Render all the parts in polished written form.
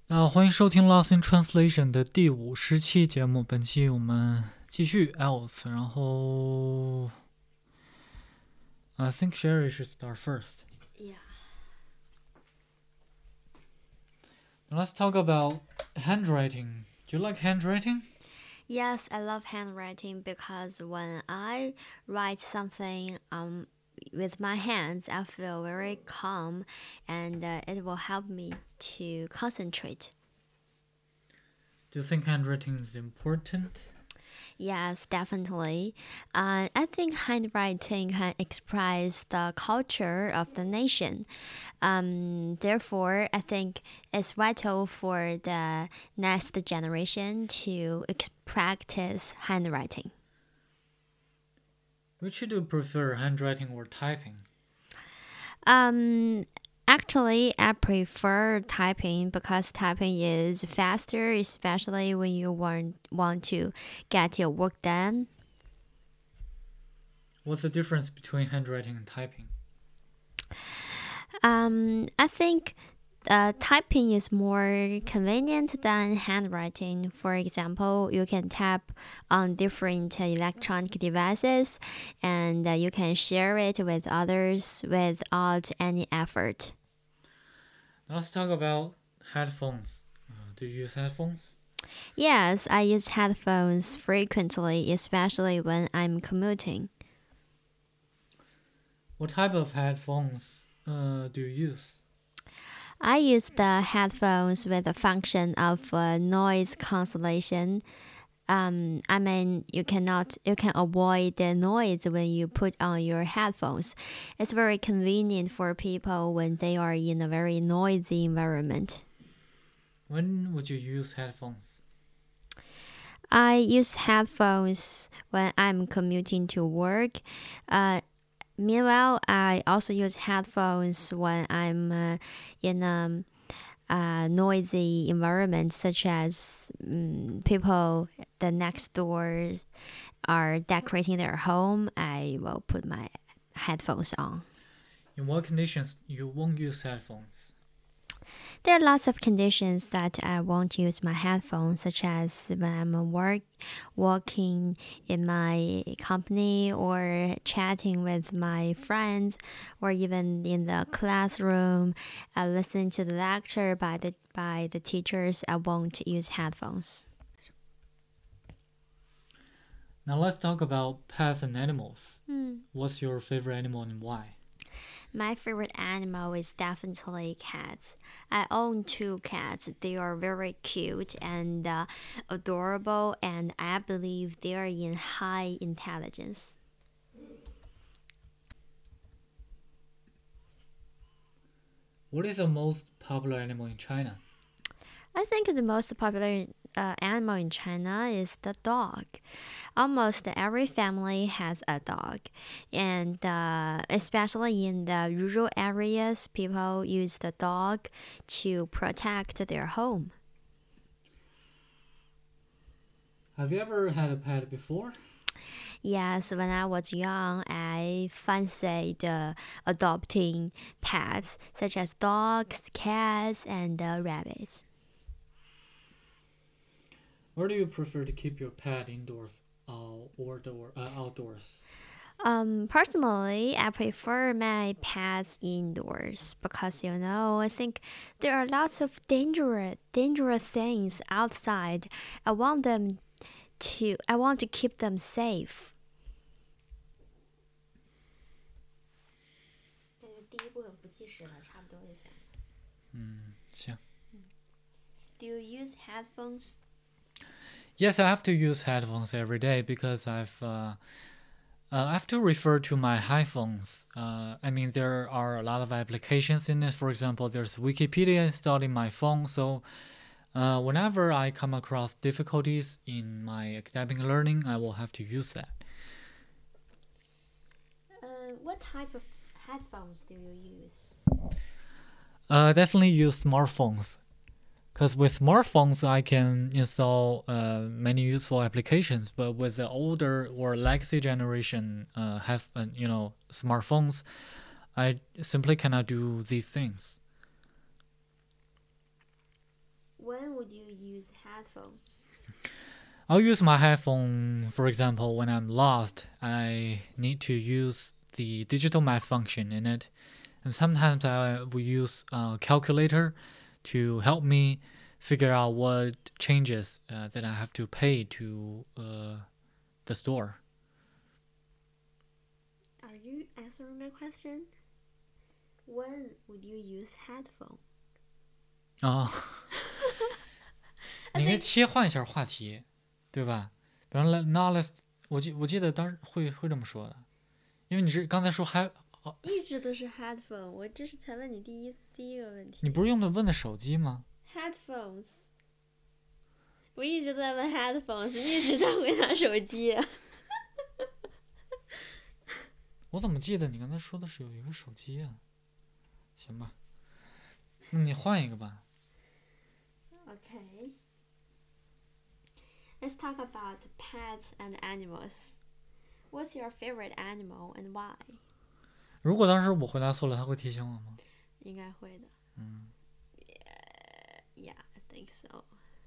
欢迎收听《Lost in Translation》的第50期节目。本期我们继续 else，然后 I think Sherry should start first. Yeah. Let's talk about handwriting. Do you like handwriting? Yes, I love handwriting because when I write something with my hands, I feel very calm and it will help me to concentrate. Do you think handwriting is important? Yes, definitely. I think handwriting can express the culture of the nation. Therefore, I think it's vital for the next generation to practice handwriting. Which do you prefer, handwriting or typing? Actually, I prefer typing because typing is faster, especially when you want to get your work done. What's the difference between handwriting and typing? I think typing is more convenient than handwriting. For example, you can tap on different electronic devices and you can share it with others without any effort. Let's talk about headphones. Do you use headphones? Yes, I use headphones frequently, especially when I'm commuting. What type of headphones do you use? I use the headphones with the function of noise cancellation. You can avoid the noise when you put on your headphones. It's very convenient for people when they are in a very noisy environment. When would you use headphones? I use headphones when I'm commuting to work. Meanwhile, I also use headphones when I'm in a noisy environment, such as people the next doors are decorating their home. I will put my headphones on. In what conditions you won't use headphones? There are lots of conditions that I won't use my headphones, such as when I'm working in my company or chatting with my friends, or even in the classroom, listening to the lecture by the teachers. I won't use headphones. Now let's talk about pets and animals. Hmm. What's your favorite animal and why? My favorite animal is definitely cats. I own 2 cats. They are very cute and adorable, and I believe they are in high intelligence. What is the most popular animal in China? I think the most popular animal in China is the dog. Almost every family has a dog, and especially in the rural areas, people use the dog to protect their home. Have you ever had a pet before? Yes, when I was young, I fancied adopting pets such as dogs, cats, and rabbits. Or do you prefer to keep your pet indoors or outdoors? Personally, I prefer my pets indoors because I think there are lots of dangerous things outside. I want to keep them safe. 行。 Do you use headphones? Yes, I have to use headphones every day because I have to refer to my iPhones. There are a lot of applications in it. For example, there's Wikipedia installed in my phone, so whenever I come across difficulties in my academic learning, I will have to use that. What type of headphones do you use? Definitely use smartphones. Because with smartphones, I can install many useful applications, but with the older or legacy generation smartphones, I simply cannot do these things. When would you use headphones? I'll use my headphone, for example, when I'm lost. I need to use the digital map function in it. And sometimes I will use a calculator to help me figure out what changes that I have to pay to the store. Are you answering my question? When would you use headphone? 哦，你应该切换一下话题，对吧？比方说 ，now let's，我记得当时会这么说的，因为你是刚才说还一直都是 headphone， 我这是才问你第一个问题。 你不是问的手机吗 ？Headphones， 我一直在问 headphones， 你一直在回答手机。 我怎么记得你刚才说的是有一个手机啊？行吧，那你换一个吧。 Okay. Let's talk about pets and animals. What's your favorite animal and why? 如果当时我回答错了，他会提醒我吗？ 应该会的。Yeah, I think so.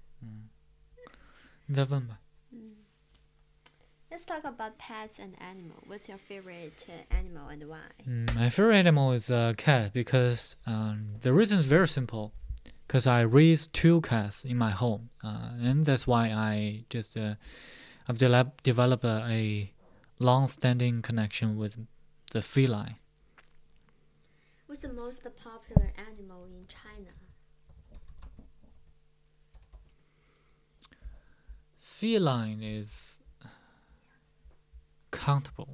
你再问吧。 Let's talk about pets and animal. What's your favorite animal and why? My favorite animal is a cat because the reason is very simple. Because I raised 2 cats in my home, and that's why I just I've developed a long-standing connection with the feline. What's the most popular animal in China? Feline is countable.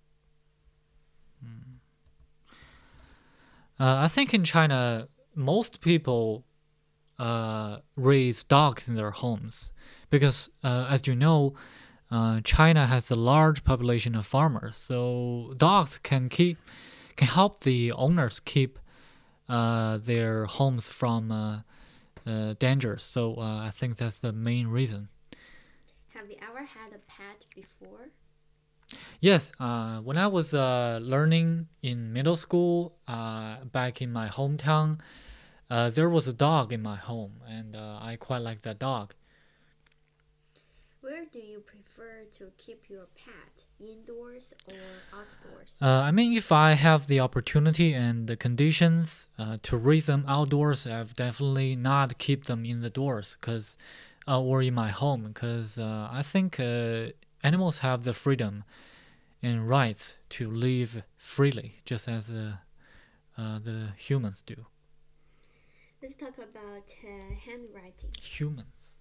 I think in China, most people raise dogs in their homes because, as you know, China has a large population of farmers, so dogs can help the owners keep their homes from dangers. So I think that's the main reason. Have you ever had a pet before? Yes, when I was learning in middle school back in my hometown, there was a dog in my home, and I quite like that dog. Where do you prefer to keep your pet, indoors or outdoors? I mean, if I have the opportunity and the conditions to raise them outdoors, I've definitely not keep them in the doors or in my home, because I think animals have the freedom and rights to live freely, just as the humans do. Let's talk about handwriting. Humans.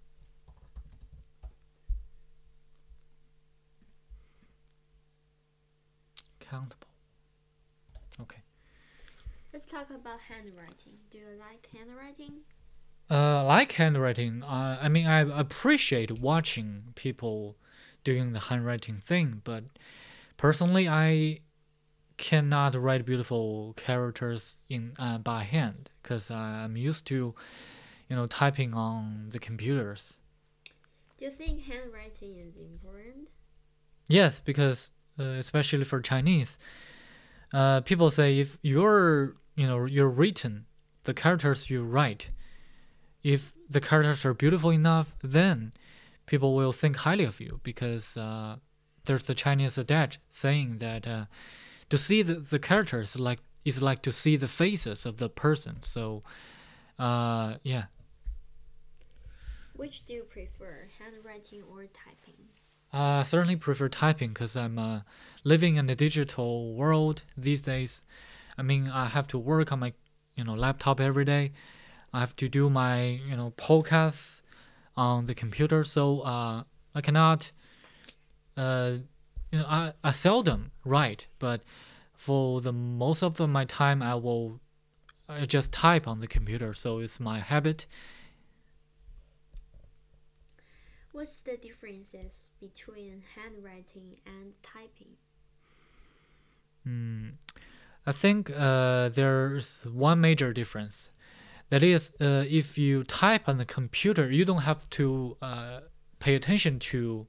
Countable. Okay. Let's talk about handwriting. Do you like handwriting? Like handwriting. I mean, I appreciate watching people doing the handwriting thing, but personally, I cannot write beautiful characters by hand because I'm used to, typing on the computers. Do you think handwriting is important? Yes, because especially for Chinese, people say if you're written, the characters you write, if the characters are beautiful enough, then people will think highly of you because there's a Chinese adage saying that to see the characters is like to see the faces of the person. So, yeah. Which do you prefer, handwriting or typing? I certainly prefer typing because I'm living in a digital world these days. I mean, I have to work on my laptop every day. I have to do my podcasts on the computer, so I cannot. I seldom write, but for the most of my time, I just type on the computer. So it's my habit. What's the differences between handwriting and typing? I think there's one major difference. That is, if you type on the computer, you don't have to pay attention to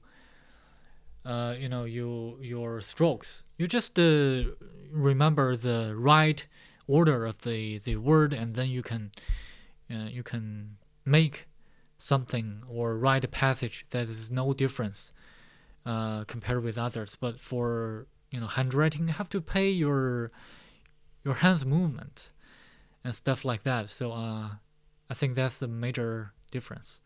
your strokes. You just remember the right order of the word, and then you can make something or write a passage that is no difference compared with others. But for handwriting, you have to pay your hands movement and stuff like that. So I think that's the major difference.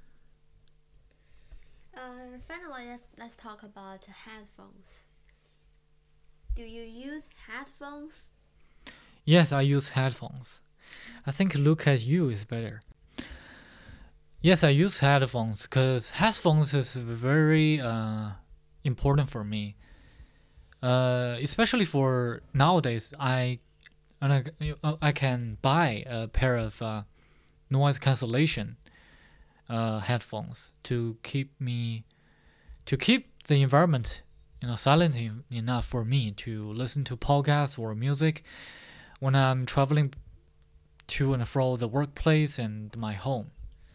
Finally, let's talk about headphones. Do you use headphones? Yes, I use headphones. I think look at you is better. Yes, I use headphones because headphones is very important for me. Especially for nowadays, I can buy a pair of noise cancellation headphones to keep the environment silent enough for me to listen to podcasts or music when I'm traveling to and fro the workplace and my home.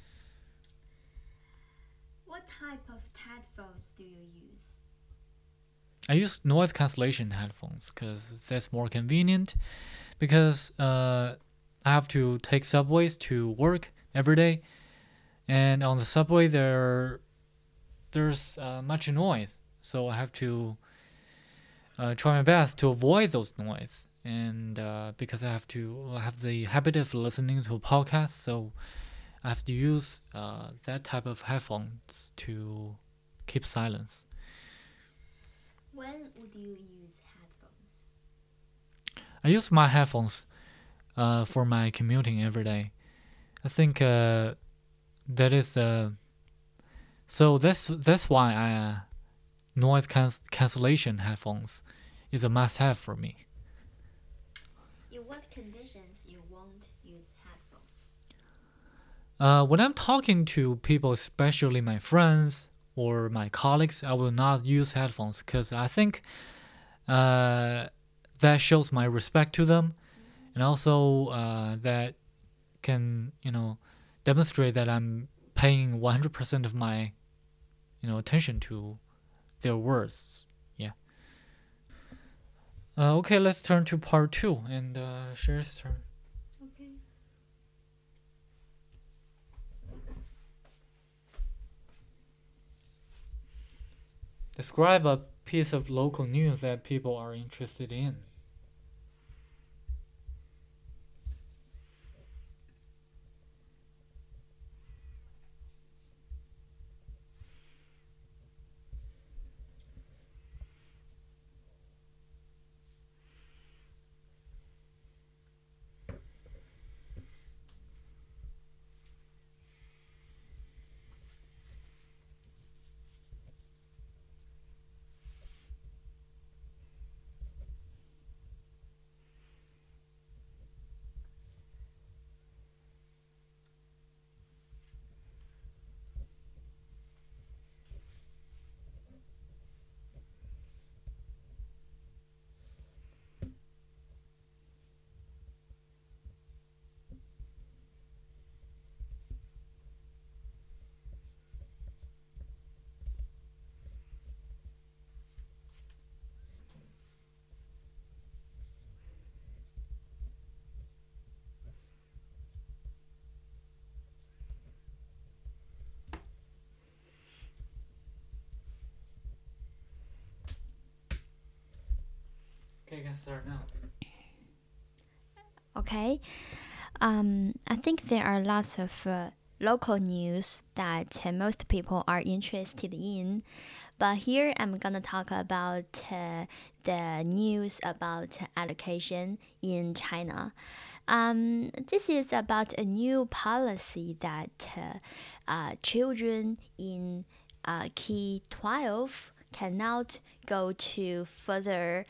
What type of headphones do you use? I use noise cancellation headphones because that's more convenient. Because I have to take subways to work every day, and on the subway there's much noise, so I have to try my best to avoid those noise. And because I have the habit of listening to podcasts, so I have to use that type of headphones to keep silence. When would you use headphones? I use my headphones for my commuting every day. I think that is so that's why noise cancellation headphones is a must-have for me. In what conditions you won't use headphones? When I'm talking to people, especially my friends or my colleagues, I will not use headphones because I think that shows my respect to them, and also that can demonstrate that I'm paying 100% of my attention to their words. Yeah. Okay, let's turn to part 2 and Sherry's turn. Okay. Describe a piece of local news that people are interested in. Okay, I can start now. Okay. I think there are lots of local news that most people are interested in. But here I'm gonna talk about the news about education in China. This is about a new policy that children in K-12 cannot go to further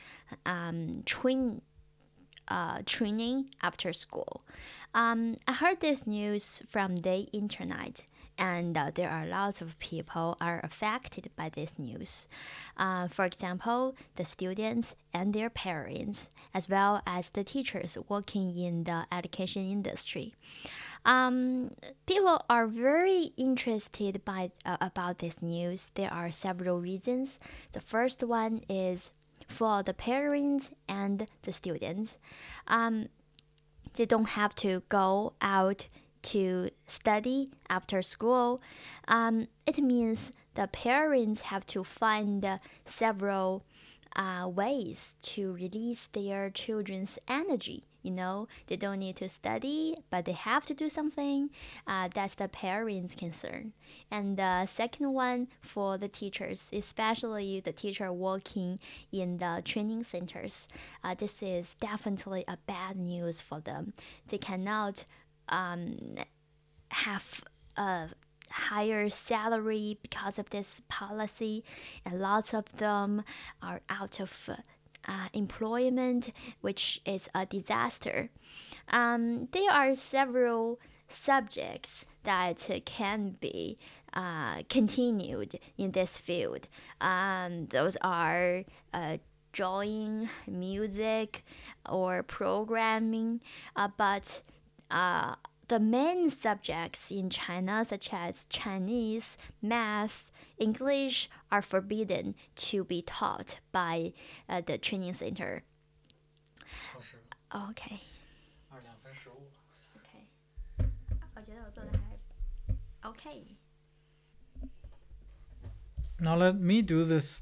training after school. I heard this news from the internet, and there are lots of people are affected by this news. For example, the students and their parents, as well as the teachers working in the education industry. People are very interested by about this news. There are several reasons. The first one is for the parents and the students. They don't have to go out to study after school, it means the parents have to find several ways to release their children's energy. They don't need to study, but they have to do something. That's the parents' concern. And the second one for the teachers, especially the teacher working in the training centers, this is definitely a bad news for them. They cannot have a higher salary because of this policy, and lots of them are out of employment, which is a disaster. There are several subjects that can be continued in this field. Those are drawing, music, or programming, but the main subjects in China, such as Chinese, math, English, are forbidden to be taught by the training center. OK， 我觉得我做的还 OK。 Now let me do this.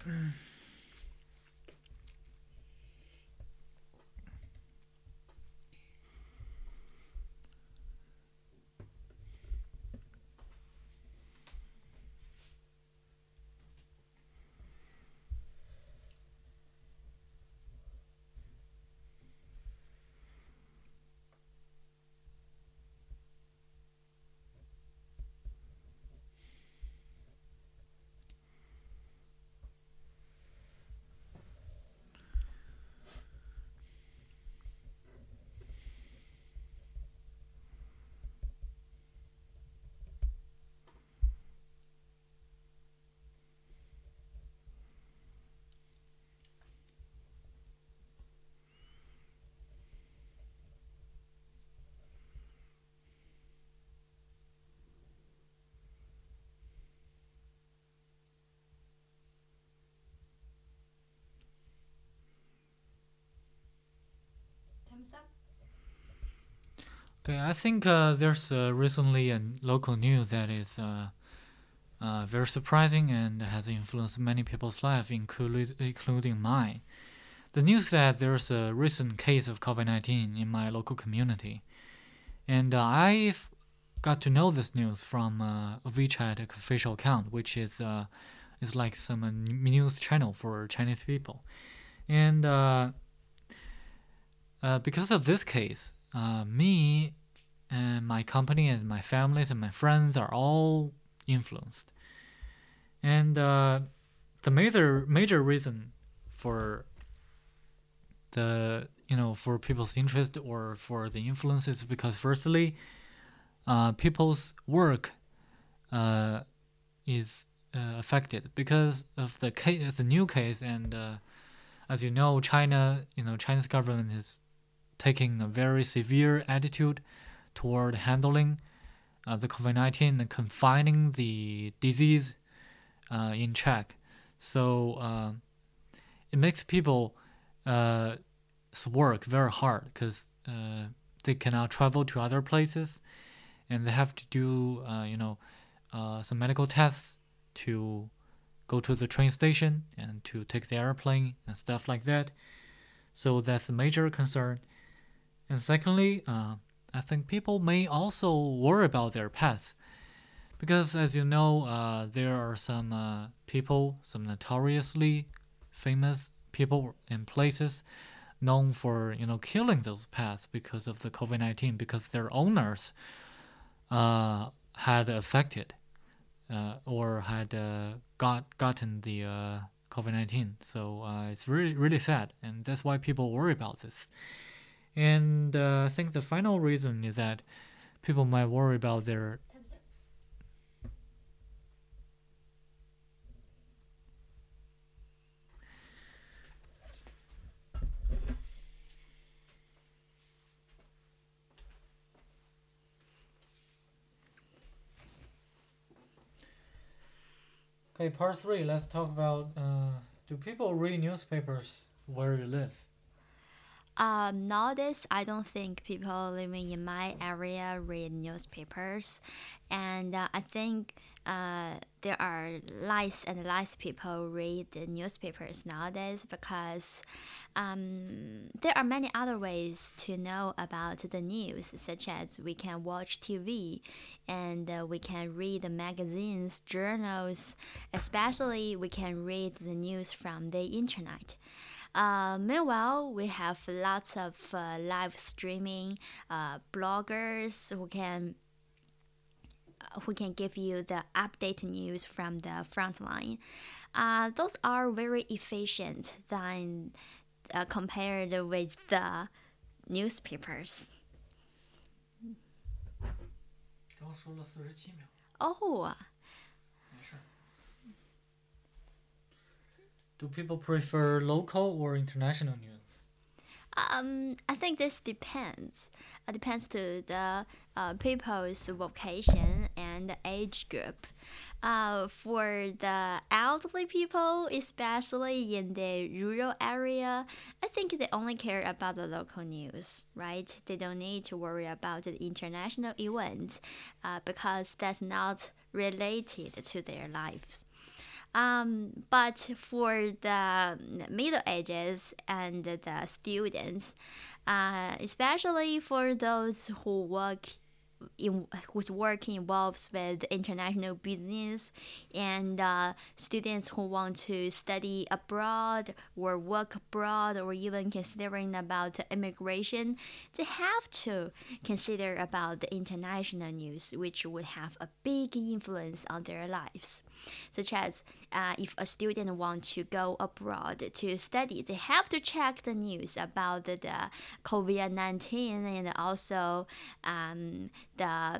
Okay, I think there's recently a local news that is very surprising and has influenced many people's lives, including mine. The news that there's a recent case of COVID-19 in my local community, and I've got to know this news from a WeChat official account, which is like some news channel for Chinese people, and because of this case, me and my company and my families and my friends are all influenced. And the major reason for for people's interest or for the influence is because firstly, people's work is affected because of the new case, and as you know, China's government is taking a very severe attitude toward handling the COVID-19 and confining the disease in check. So it makes people work very hard because they cannot travel to other places, and they have to do some medical tests to go to the train station and to take the airplane and stuff like that. So that's a major concern. And secondly, I think people may also worry about their pets because, as you know, there are some people, some notoriously famous people in places known for killing those pets because of the COVID-19, because their owners had affected or had gotten the COVID-19. So it's really, really sad, and that's why people worry about this. And I think the final reason is that people might worry about their Okay, part 3, let's talk about do people read newspapers where you live? Nowadays, I don't think people living in my area read newspapers, and I think there are less and less people read the newspapers nowadays because there are many other ways to know about the news, such as we can watch TV and we can read the magazines, journals, especially we can read the news from the internet. Meanwhile, we have lots of live streaming bloggers who can give you the update news from the front line. Those are very efficient than compared with the newspapers. 刚说了47秒， Oh, 没事。Do people prefer local or international news? I think this depends. It depends to the people's vocation and age group. For the elderly people, especially in the rural area, I think they only care about the local news, right? They don't need to worry about the international events because that's not related to their lives. But for the middle ages and the students, especially for those whose work involves with international business and students who want to study abroad or work abroad or even considering about immigration, they have to consider about the international news, which would have a big influence on their lives. Such as if a student wants to go abroad to study, they have to check the news about the COVID-19 and also the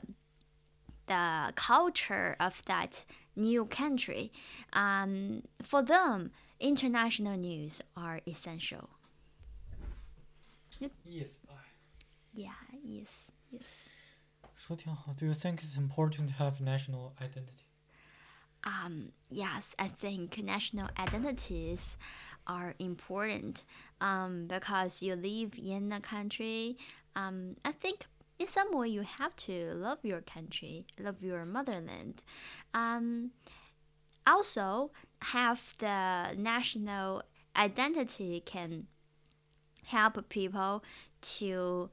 culture of that new country. For them, international news are essential. Yes, Yeah, yes. 说挺好。Do you think it's important to have national identity? Yes, I think national identities are important because you live in a country. I think in some way you have to love your country, love your motherland. Also, have the national identity can help people to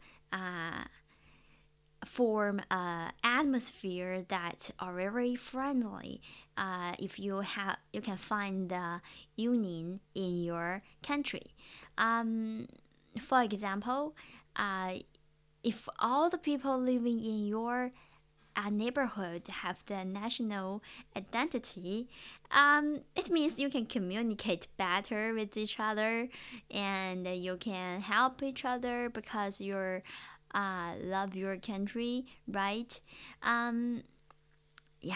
form an atmosphere that are very friendly. If you can find the union in your country. For example, if all the people living in your neighborhood have the national identity, it means you can communicate better with each other and you can help each other because you're love your country, right? Yeah.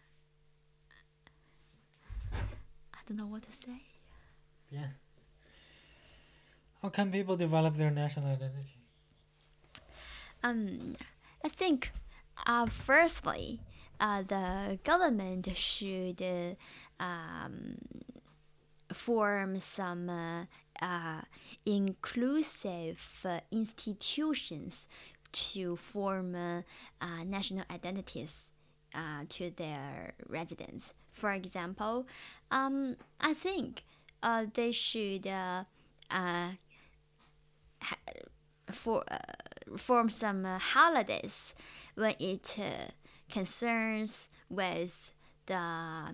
I don't know what to say. Yeah. How can people develop their national identity? I think, firstly, the government should form some inclusive institutions to form national identities to their residents. For example, I think they should form some holidays when it concerns with the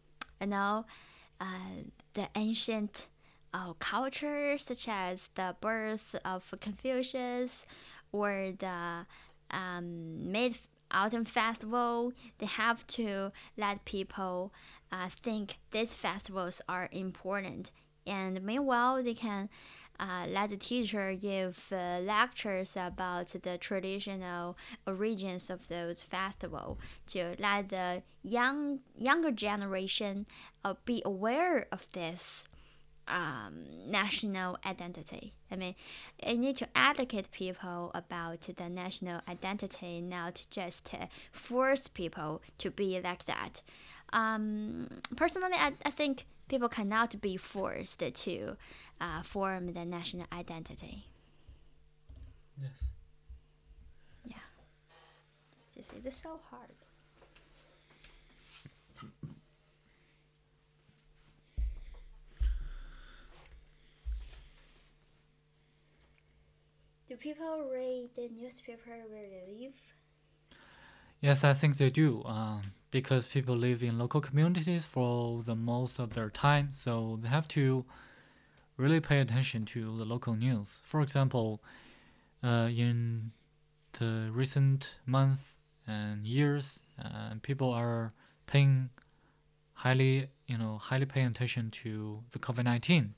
the ancient culture, such as the birth of Confucius or the Mid Autumn Festival. They have to let people think these festivals are important. And meanwhile, they can let the teacher give lectures about the traditional origins of those festivals to let the younger generation be aware of this national identity. I mean, you need to educate people about the national identity, not just force people to be like that. Personally, I think people cannot be forced to form the national identity. Yes. Yeah, this is so hard. Do people read the newspaper where they live? Yes, I think they do. Because people live in local communities for the most of their time, so they have to really pay attention to the local news. For example, in the recent months and years, people are paying highly paying attention to the COVID-19.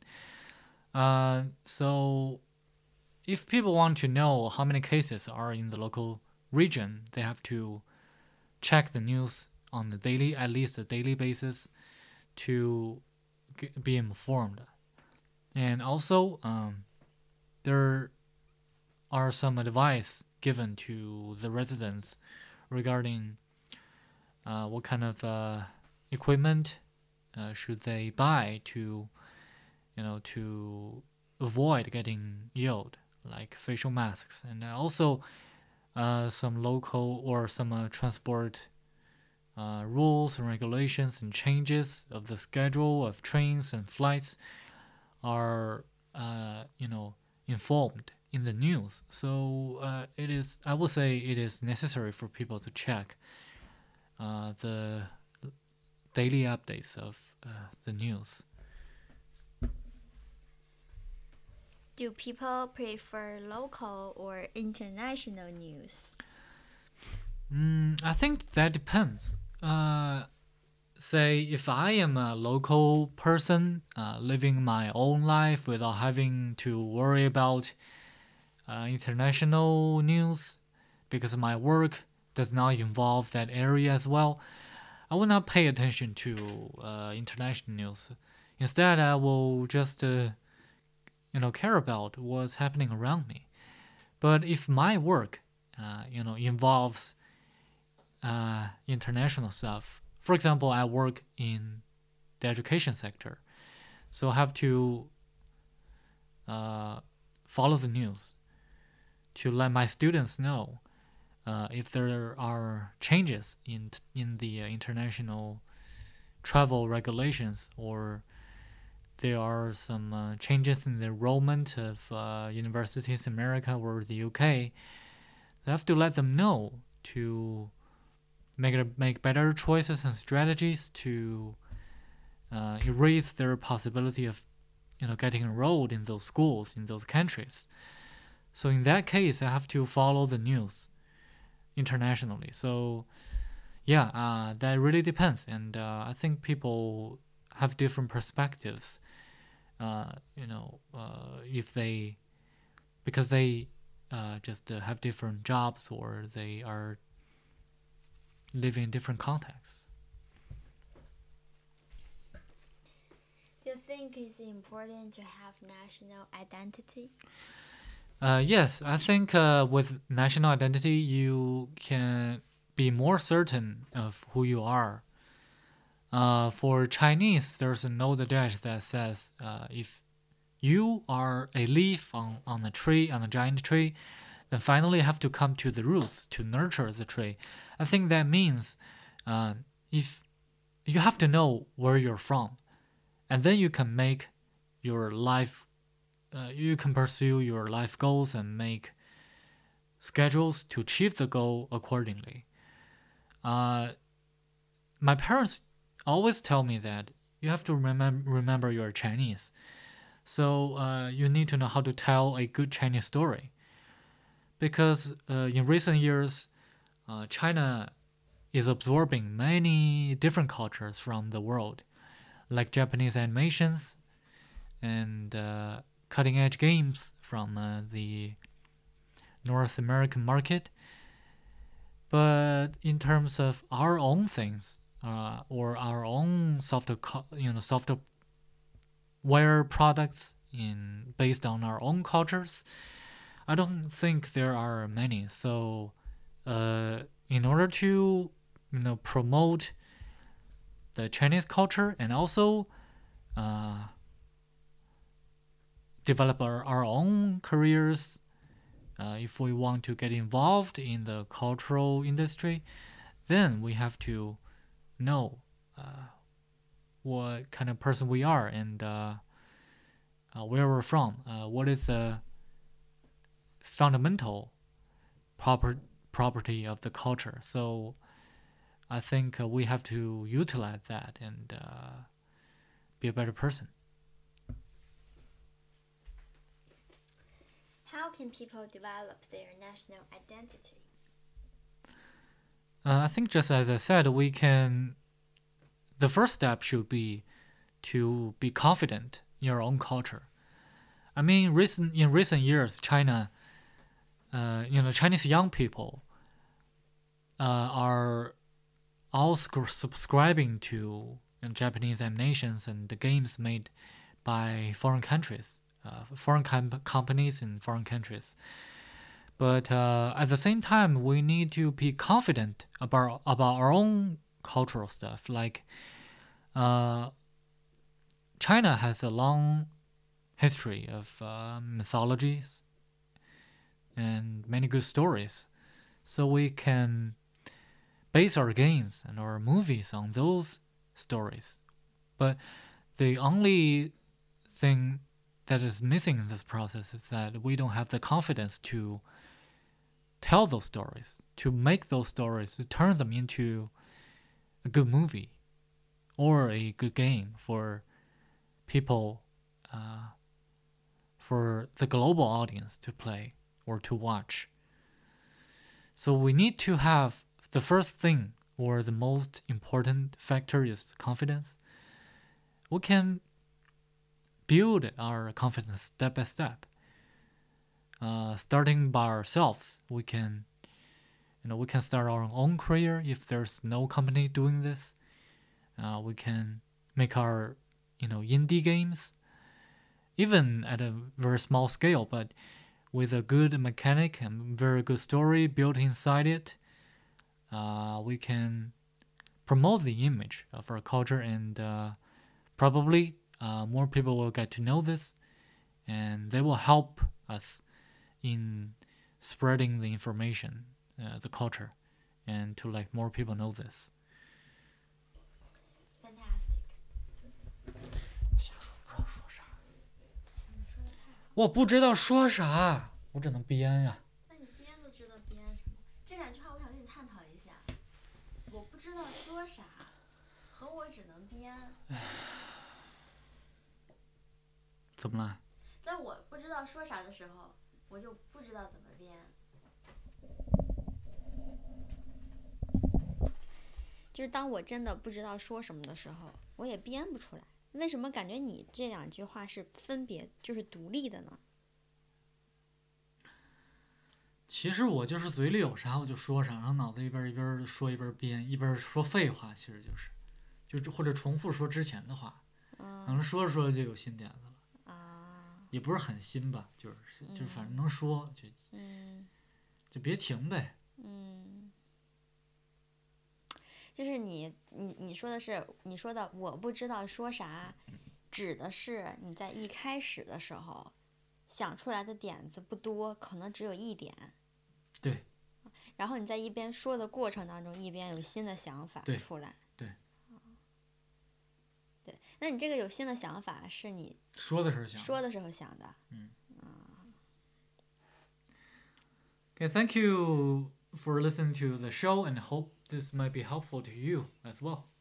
So if people want to know how many cases are in the local region, they have to check the news on the daily, at least a daily basis, to be informed. And also, there are some advice given to the residents regarding what kind of equipment should they buy to avoid getting ill, like facial masks, and also some local or some transport rules and regulations and changes of the schedule of trains and flights are informed in the news. So I would say it is necessary for people to check the daily updates of the news. Do people prefer local or international news? I think that depends. Say if I am a local person living my own life without having to worry about international news because my work does not involve that area as well, I will not pay attention to international news. Instead, I will just care about what's happening around me. But if my work involves international stuff, for example, I work in the education sector, so I have to follow the news to let my students know if there are changes in the international travel regulations, or there are some changes in the enrollment of universities in America or the UK. I have to let them know to make better choices and strategies to erase their possibility of getting enrolled in those schools in those countries. So in that case, I have to follow the news internationally. So yeah, that really depends, and I think people have different perspectives. If they because they just have different jobs, or they are living in different contexts. Do you think it's important to have national identity? Yes, I think with national identity, you can be more certain of who you are. For Chinese, there's an old adage that says, if you are a leaf on a tree, on a giant tree, then finally have to come to the roots to nurture the tree. I think that means if you have to know where you're from, and then you can make your life, you can pursue your life goals and make schedules to achieve the goal accordingly. My parents always tell me that you have to remember you're Chinese. So you need to know how to tell a good Chinese story. Because in recent years, China is absorbing many different cultures from the world, like Japanese animations and cutting edge games from the North American market. But in terms of our own things, or our own software products based on our own cultures, I don't think there are many. So, in order to promote the Chinese culture and also develop our own careers if we want to get involved in the cultural industry, then we have to know what kind of person we are and where we're from. What is the fundamental property of the culture? So I think we have to utilize that and be a better person. How can people develop their national identity? I think just as I said, the first step should be to be confident in your own culture. I mean, in recent years, China, Chinese young people are all subscribing to Japanese animations and the games made by foreign countries, foreign companies in foreign countries. But at the same time, we need to be confident about our own cultural stuff. Like China has a long history of mythologies and many good stories, so we can base our games and our movies on those stories. But the only thing that is missing in this process is that we don't have the confidence to tell those stories, to make those stories, to turn them into a good movie or a good game for people, for the global audience to play or to watch. So we need to have the first thing, or the most important factor, is confidence. We can build our confidence step by step. Starting by ourselves, we can start our own career if there's no company doing this. We can make our indie games, even at a very small scale, but with a good mechanic and very good story built inside it. We can promote the image of our culture, and probably more people will get to know this, and they will help us in spreading the information, the culture, and to let more people know this. Fantastic. 我不知道说啥，我只能编呀。 那你编都知道编什么？这两句话我想跟你探讨一下。我不知道说啥，和我只能编。 怎么了？ 但我不知道说啥的时候，我就不知道怎么编。就是当我真的不知道说什么的时候，我也编不出来。为什么感觉你这两句话是分别就是独立的呢？ 其实我就是嘴里有啥我就说啥，然后脑子一边说一边编，一边说废话，其实就是或者重复说之前的话，可能说着说着就有新点子了。也不是很新吧，就是反正能说就别停呗。 就是你说的是你说的我不知道说啥，指的是你在一开始的时候想出来的点子不多，可能只有一点。 对。 然后你在一边说的过程当中，一边有新的想法出来。 对。 对，那你这个有新的想法是你说的时候想的。 Okay, thank you for listening to the show, and hope this might be helpful to you as well.